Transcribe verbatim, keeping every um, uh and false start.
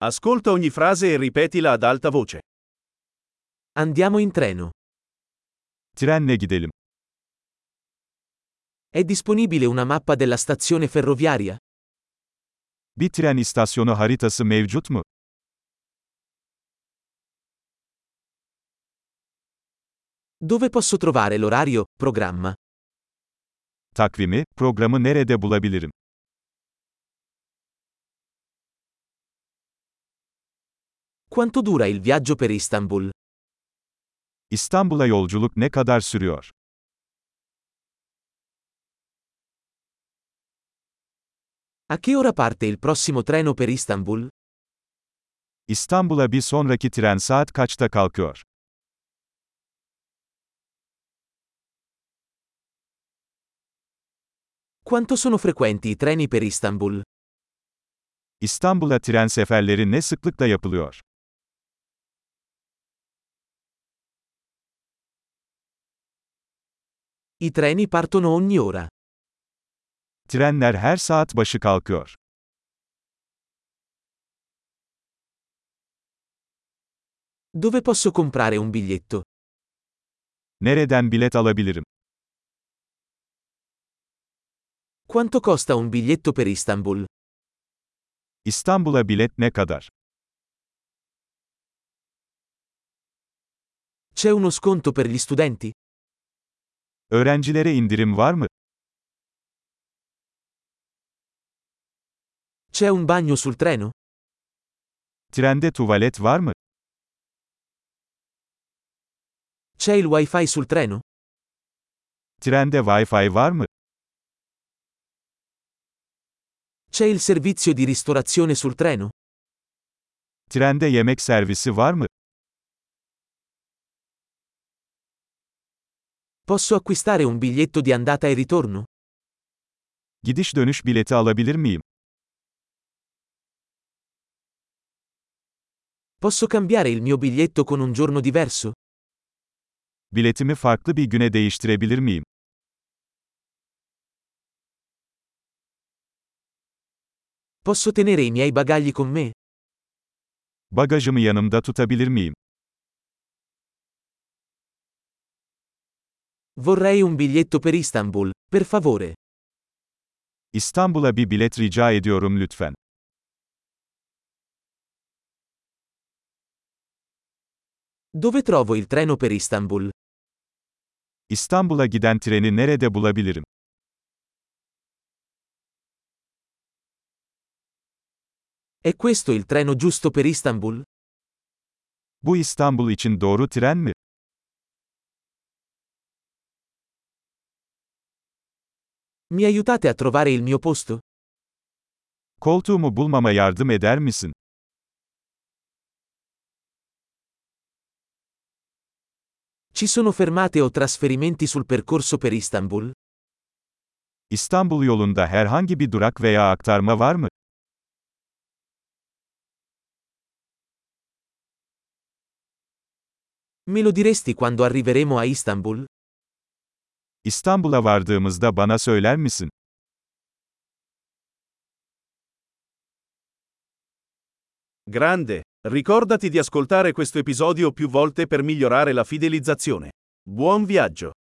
Ascolta ogni frase e ripetila ad alta voce. Andiamo in treno. Trenle gidelim. È disponibile una mappa della stazione ferroviaria? Bir tren istasyonu haritası mevcut mu? Dove posso trovare l'orario, programma? Takvimi, programı nerede bulabilirim? Quanto dura il viaggio per Istanbul? İstanbul'a yolculuk ne kadar sürüyor? A che ora parte il prossimo treno per Istanbul? İstanbul'a bir sonraki tren saat kaçta kalkıyor? Quanto sono frequenti i treni per Istanbul? İstanbul'a tren seferleri ne sıklıkla yapılıyor? I treni partono ogni ora. Trenler her saat başı kalkıyor. Dove posso comprare un biglietto? Nereden bilet alabilirim? Quanto costa un biglietto per Istanbul? İstanbul'a bilet ne kadar? C'è uno sconto per gli studenti? Öğrencilere indirim var mı? C'è un bagno sul treno? Trende tuvalet var mı? C'è il wifi sul treno? Trende Wi-Fi var mı? C'è il servizio di ristorazione sul treno? Trende yemek servisi var mı? Posso acquistare un biglietto di andata e ritorno? Gidiş dönüş bileti alabilir miyim? Posso cambiare il mio biglietto con un giorno diverso? Biletimi farklı bir güne değiştirebilir miyim? Posso tenere i miei bagagli con me? Bagajımı yanımda tutabilir miyim? Vorrei un biglietto per Istanbul, per favore. İstanbul'a bir bilet rica ediyorum lütfen. Dove trovo il treno per Istanbul? İstanbul'a giden treni nerede bulabilirim? È questo il treno giusto per Istanbul? Bu İstanbul için doğru tren mi? Mi aiutate a trovare il mio posto? Koltuğumu bulmama yardım eder misin? Ci sono fermate o trasferimenti sul percorso per Istanbul? İstanbul yolunda herhangi bir durak veya aktarma var mı? Me lo diresti quando arriveremo a Istanbul? İstanbul'a vardığımızda bana söyler misin? Grande! Ricordati di ascoltare questo episodio più volte per migliorare la fidelizzazione. Buon viaggio!